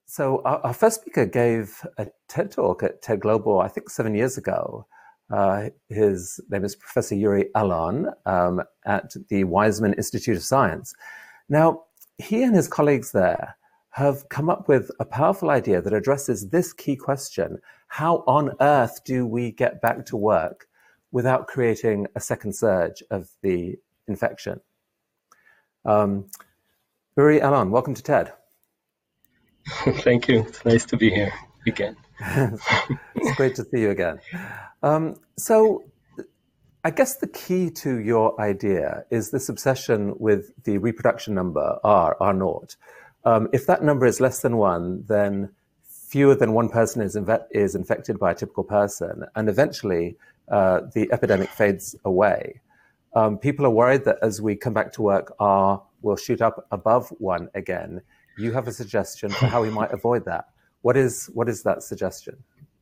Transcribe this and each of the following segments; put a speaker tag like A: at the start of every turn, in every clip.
A: So our first speaker gave a TED talk at TED Global, I think 7 years ago. His name is Professor Yuri Alon at the Weizmann Institute of Science. Now, he and his colleagues there have come up with a powerful idea that addresses this key question: how on earth do we get back to work without creating a second surge of the infection? Yuri Alon, welcome to TED.
B: Thank you. It's nice to be here again.
A: It's great to see you again. So I guess the key to your idea is this obsession with the reproduction number, R naught. If that number is less than 1, then fewer than one person is infected by a typical person, and eventually the epidemic fades away. People are worried that as we come back to work, R will shoot up above 1 again. You have a suggestion for how we might avoid that. What is that suggestion?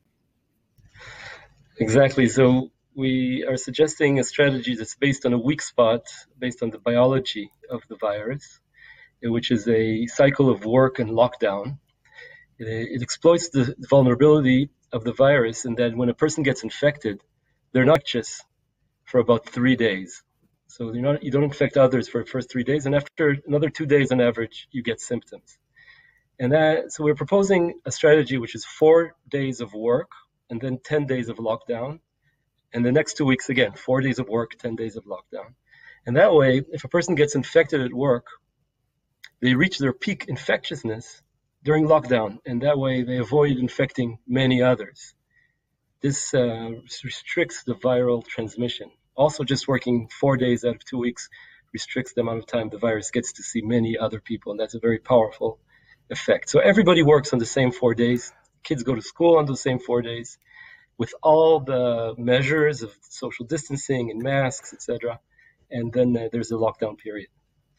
B: Exactly. So we are suggesting a strategy that's based on a weak spot, based on the biology of the virus, which is a cycle of work and lockdown. It exploits the vulnerability of the virus, and that when a person gets infected, they're not infectious for about 3 days. So you don't infect others for the first 3 days, and after another 2 days on average, you get symptoms. So we're proposing a strategy which is 4 days of work and then 10 days of lockdown. And the next 2 weeks, again, 4 days of work, 10 days of lockdown. And that way, if a person gets infected at work, they reach their peak infectiousness during lockdown. And that way, they avoid infecting many others. This restricts the viral transmission. Also, just working 4 days out of 2 weeks restricts the amount of time the virus gets to see many other people. And that's a very powerful effect. So everybody works on the same 4 days. Kids go to school on the same 4 days with all the measures of social distancing and masks, etc. And then there's a lockdown period.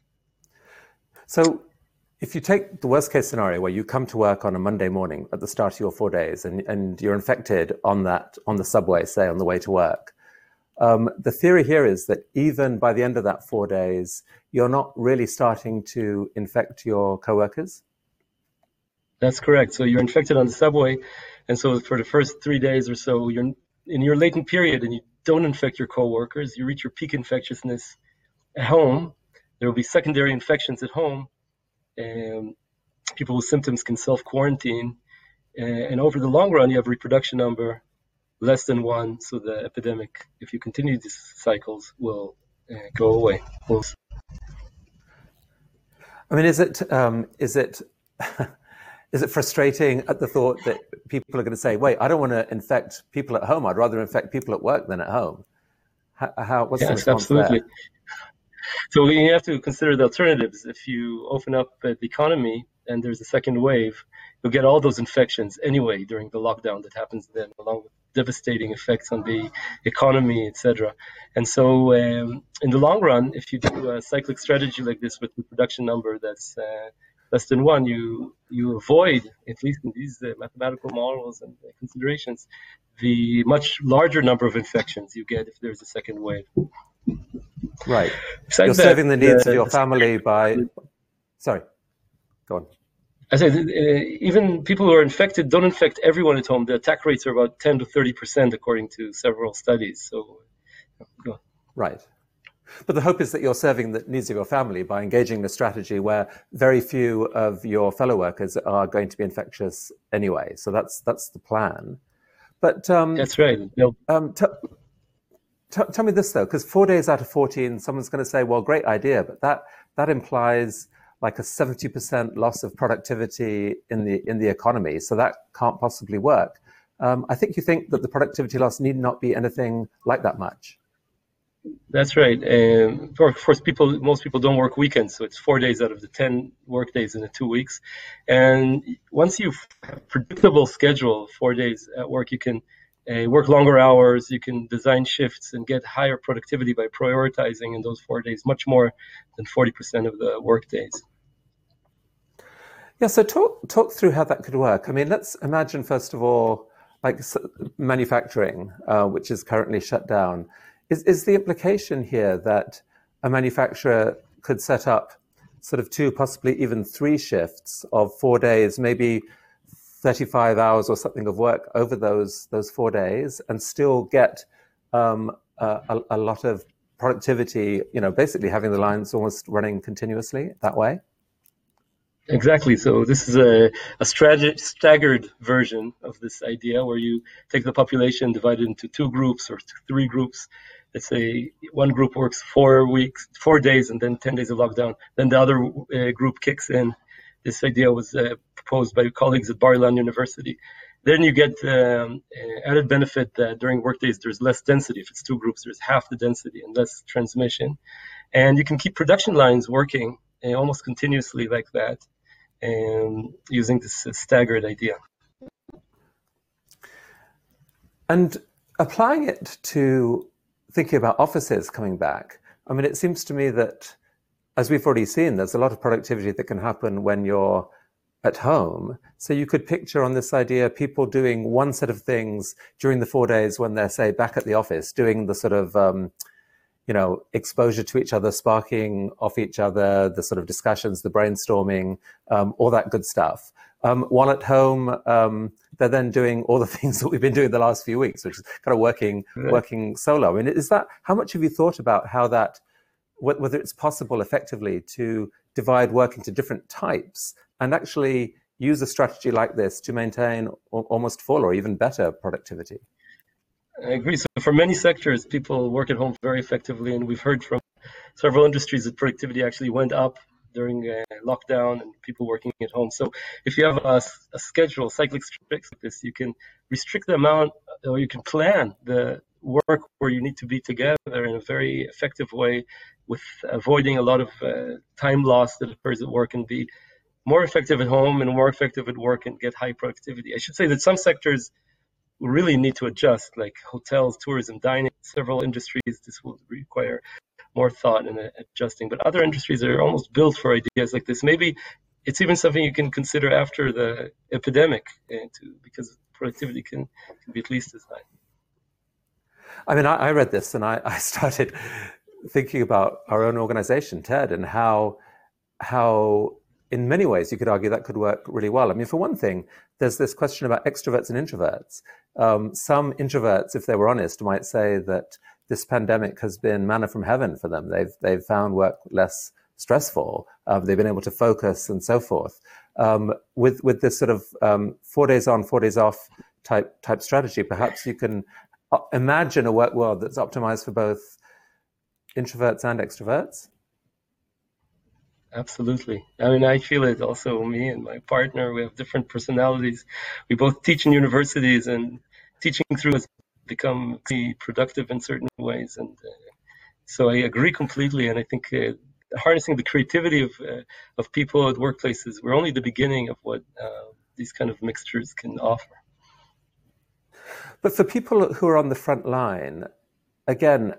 A: So if you take the worst case scenario where you come to work on a Monday morning at the start of your 4 days and you're infected on the subway, say on the way to work, the theory here is that even by the end of that 4 days, you're not really starting to infect your coworkers?
B: That's correct. So you're infected on the subway, and so for the first 3 days or so, you're in your latent period and you don't infect your coworkers. You reach your peak infectiousness at home. There will be secondary infections at home, and people with symptoms can self-quarantine. And over the long run, you have a reproduction number less than 1, so the epidemic, if you continue these cycles, will go away.
A: I mean, is it frustrating at the thought that people are going to say, wait, I don't want to infect people at home. I'd rather infect people at work than at home. What's the response
B: absolutely.
A: there?
B: So you have to consider the alternatives. If you open up the economy and there's a second wave, you'll get all those infections anyway during the lockdown that happens then, along with devastating effects on the economy, etc. And so in the long run, if you do a cyclic strategy like this with the production number that's less than 1, you avoid, at least in these mathematical models and considerations, the much larger number of infections you get if there's a second wave.
A: Right. You're serving the needs of your family by... Sorry, go on.
B: I said, even people who are infected don't infect everyone at home. The attack rates are about 10 to 30% according to several studies. So, go on.
A: Right. But the hope is that you're serving the needs of your family by engaging in a strategy where very few of your fellow workers are going to be infectious anyway. So that's the plan. But
B: that's right.
A: Tell me this though, because 4 days out of 14, someone's going to say, "Well, great idea," but that implies like a 70% loss of productivity in the economy. So that can't possibly work. I think you think that the productivity loss need not be anything like that much.
B: That's right. Of course, most people don't work weekends, so it's 4 days out of the 10 work days in the 2 weeks. And once you have a predictable schedule, 4 days at work, you can work longer hours, you can design shifts and get higher productivity by prioritizing in those 4 days, much more than 40% of the work days.
A: Yeah, so talk through how that could work. I mean, let's imagine, first of all, like manufacturing, which is currently shut down. Is the implication here that a manufacturer could set up sort of 2, possibly even 3 shifts of 4 days, maybe 35 hours or something of work over those 4 days and still get a lot of productivity, basically having the lines almost running continuously that way?
B: Exactly. So this is a staggered version of this idea where you take the population, divide it into 2 groups or 3 groups. Let's say one group works 4 days, and then 10 days of lockdown. Then the other group kicks in. This idea was proposed by colleagues at Bar-Ilan University. Then you get added benefit that during workdays there's less density. If it's 2 groups, there's half the density and less transmission. And you can keep production lines working almost continuously like that, using this staggered idea.
A: And applying it to thinking about offices coming back, I mean, it seems to me that, as we've already seen, there's a lot of productivity that can happen when you're at home. So you could picture on this idea people doing one set of things during the 4 days when they're, say, back at the office, doing the sort of exposure to each other, sparking off each other, the sort of discussions, the brainstorming, all that good stuff. While at home, they're then doing all the things that we've been doing the last few weeks, which is kind of working solo. I mean, how much have you thought about how that, whether it's possible effectively to divide work into different types and actually use a strategy like this to maintain almost full or even better productivity?
B: I agree. So for many sectors, people work at home very effectively, and we've heard from several industries that productivity actually went up during lockdown and people working at home. So if you have a schedule, cyclic strict like this, you can restrict the amount, or you can plan the work where you need to be together in a very effective way, with avoiding a lot of time loss that occurs at work, and be more effective at home and more effective at work and get high productivity. I should say that some sectors really need to adjust, like hotels, tourism, dining, several industries. This will require more thought in adjusting. But other industries are almost built for ideas like this. Maybe it's even something you can consider after the epidemic, because productivity can be at least as high.
A: I mean, I read this and I started thinking about our own organization, TED, and how in many ways you could argue that could work really well. I mean, for one thing, there's this question about extroverts and introverts. Some introverts, if they were honest, might say that this pandemic has been manna from heaven for them. They've found work less stressful. They've been able to focus and so forth. With this sort of 4 days on, 4 days off type strategy, perhaps you can imagine a work world that's optimized for both introverts and extroverts.
B: Absolutely. I mean, I feel it also. Me and my partner, we have different personalities. We both teach in universities, and teaching through has become productive in certain ways. And so I agree completely. And I think harnessing the creativity of people at workplaces, we're only the beginning of what these kind of mixtures can offer.
A: But for people who are on the front line, again,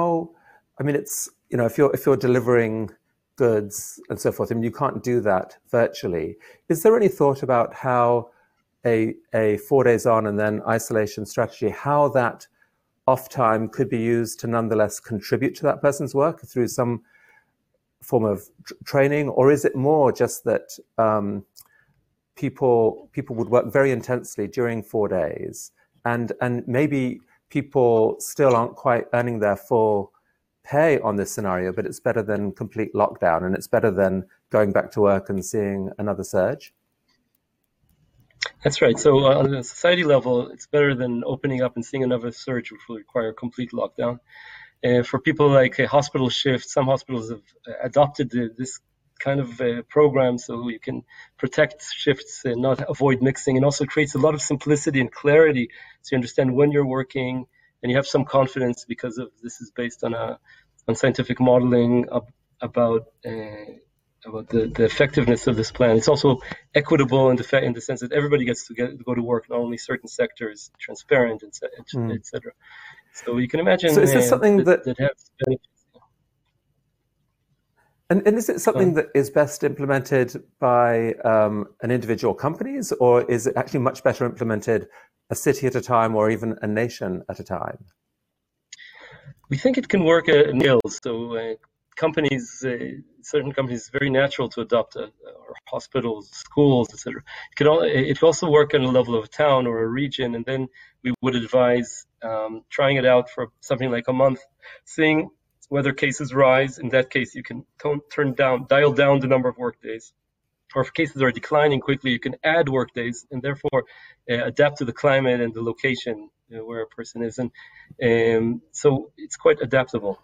A: it's, if you're delivering goods and so forth, I mean, you can't do that virtually. Is there any thought about how a 4 days on and then isolation strategy, how that off time could be used to nonetheless contribute to that person's work through some form of training? Or is it more just that people would work very intensely during 4 days, and maybe people still aren't quite earning their full pay on this scenario, but it's better than complete lockdown, and it's better than going back to work and seeing another surge?
B: That's right. So on a society level, it's better than opening up and seeing another surge, which will require complete lockdown. For people like hospital shifts, some hospitals have adopted this kind of program so you can protect shifts and not avoid mixing, and also creates a lot of simplicity and clarity so you understand when you're working, and you have some confidence because of this is based on scientific modeling about the effectiveness of this plan. It's also equitable in the sense that everybody gets to go to work, not only certain sectors, transparent, etc. So you can imagine.
A: So is this something that
B: has benefits?
A: And is it something that is best implemented by an individual companies, or is it actually much better implemented a city at a time or even a nation at a time?
B: We think it can work at scale. So companies, certain companies, it's very natural to adopt or hospitals, schools, etc. It can also work on a level of a town or a region, and then we would advise trying it out for something like a month, seeing whether cases rise. In that case, you can dial down the number of work days. Or if cases are declining quickly, you can add work days and therefore adapt to the climate and the location where a person is. And so it's quite adaptable.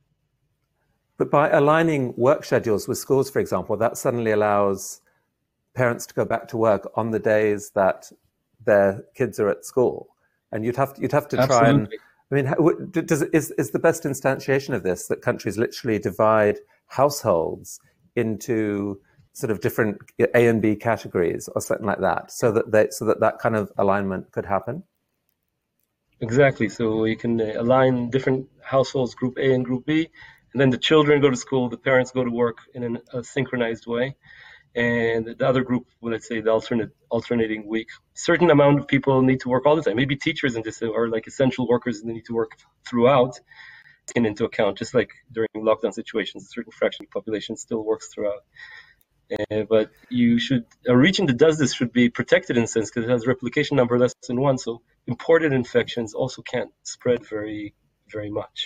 A: But by aligning work schedules with schools, for example, that suddenly allows parents to go back to work on the days that their kids are at school. And you'd have to try and, I mean, is the best instantiation of this that countries literally divide households into sort of different A and B categories or something like that, so that kind of alignment could happen?
B: Exactly. So we can align different households, group A and group B, and then the children go to school, the parents go to work in a synchronized way, and the other group, let's say the alternating week. Certain amount of people need to work all the time. Maybe teachers in this are like essential workers and they need to work throughout, taken into account, just like during lockdown situations, a certain fraction of the population still works throughout. But a region that does this should be protected in a sense because it has replication number less than 1, so imported infections also can't spread very, very much.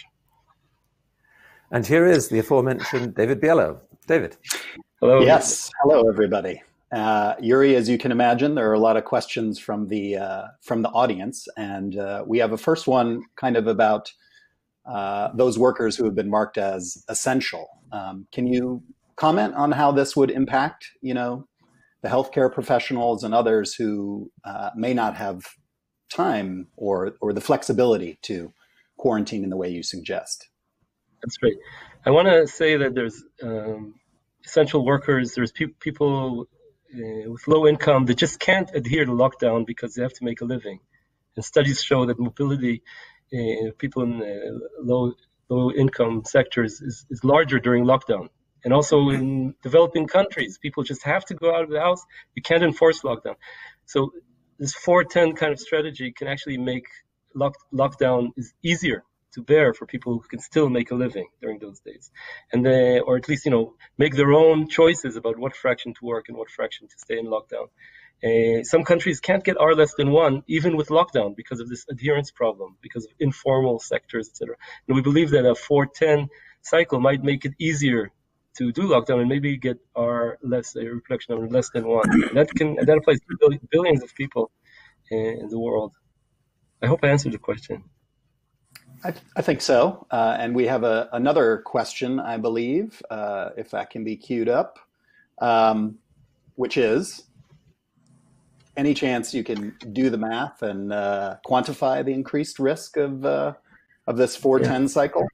A: And here is the aforementioned David Biello. David.
C: Hello. Yes. Hello, everybody. Yuri, as you can imagine, there are a lot of questions from the audience, and we have a first one kind of about those workers who have been marked as essential. Can you comment on how this would impact, the healthcare professionals and others who may not have time or the flexibility to quarantine in the way you suggest?
B: That's great. I want to say that there's essential workers, there's people with low income that just can't adhere to lockdown because they have to make a living. And studies show that mobility, people in low income sectors is larger during lockdown. And also in developing countries, people just have to go out of the house. You can't enforce lockdown. So this 4-10 kind of strategy can actually make lockdown is easier to bear for people who can still make a living during those days. And or at least, make their own choices about what fraction to work and what fraction to stay in lockdown. Some countries can't get R less than 1, even with lockdown, because of this adherence problem, because of informal sectors, etc. And we believe that a 4-10 cycle might make it easier to do lockdown and maybe get R less, a reproduction number less than 1. And that applies to billions of people in the world. I hope I answered the question.
C: I think so. And we have another question, I believe, if that can be queued up, which is, any chance you can do the math and quantify the increased risk of this 4-10 cycle?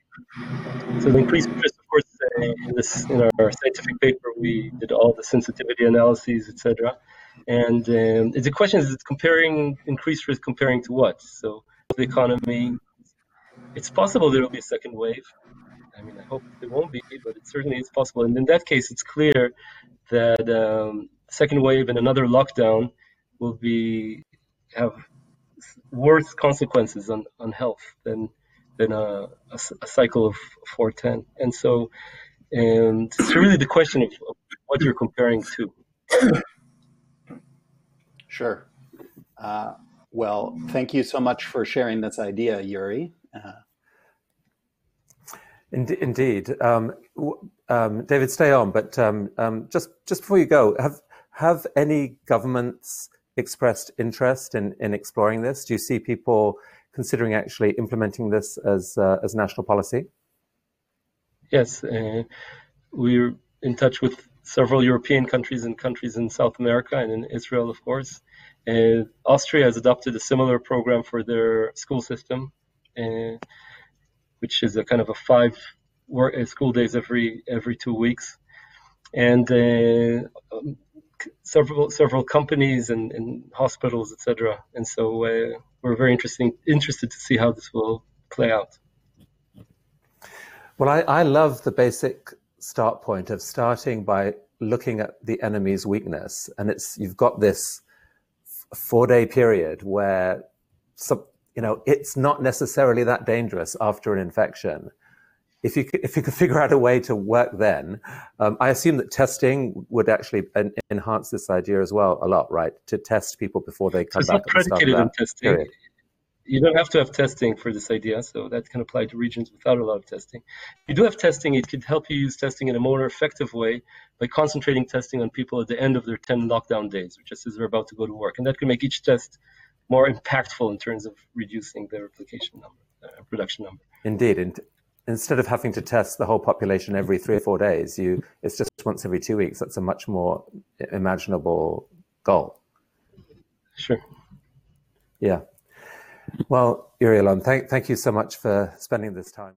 B: So the increased risk, of course, in our scientific paper, we did all the sensitivity analyses, etc. And the question is, comparing increased risk comparing to what? So the economy, it's possible there will be a second wave. I mean, I hope there won't be, but it certainly is possible. And in that case, it's clear that second wave and another lockdown will have worse consequences on health than a cycle of 4-10. And so, it's really the question of what you're comparing to.
C: Sure. Well, thank you so much for sharing this idea, Yuri.
A: Indeed. David, stay on, but just before you go, have any governments expressed interest in exploring this? Do you see people considering actually implementing this as national policy? Yes,
B: we're in touch with several European countries and countries in South America and in Israel, of course. Austria has adopted a similar program for their school system, which is a kind of a 5 school days every 2 weeks, and several companies and hospitals, etc. And so we're very interested to see how this will play out.
A: Well, I love the basic start point of starting by looking at the enemy's weakness, and you've got this 4-day period where it's not necessarily that dangerous after an infection. if you could figure out a way to work then, I assume that testing would actually enhance this idea as well a lot, right? To test people before they come back.
B: It's not predicated on testing. Period. You don't have to have testing for this idea, so that can apply to regions without a lot of testing. If you do have testing, it could help you use testing in a more effective way by concentrating testing on people at the end of their 10 lockdown days, just as they're about to go to work. And that can make each test more impactful in terms of reducing the replication number, production number.
A: Indeed. Instead of having to test the whole population every 3 or 4 days, it's just once every 2 weeks. That's a much more imaginable goal.
B: Sure.
A: Yeah. Well, Yuri Alon, thank you so much for spending this time.